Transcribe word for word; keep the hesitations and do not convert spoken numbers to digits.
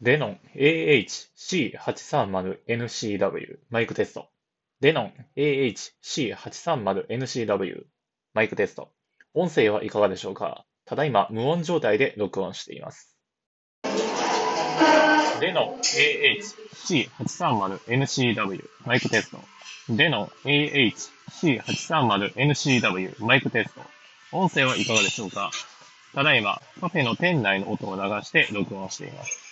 デノン エーエイチシーはちさんまるエヌシーダブリュー マイクテスト。デノン エーエイチシーはちさんまるエヌシーダブリュー マイクテスト。音声はいかがでしょうか？ただいま無音状態で録音しています。デノン エーエイチシーはちさんまるエヌシーダブリュー マイクテスト。デノン エーエイチシーはちさんまるエヌシーダブリュー マイクテスト。音声はいかがでしょうか？ただいまカフェの店内の音を流して録音しています。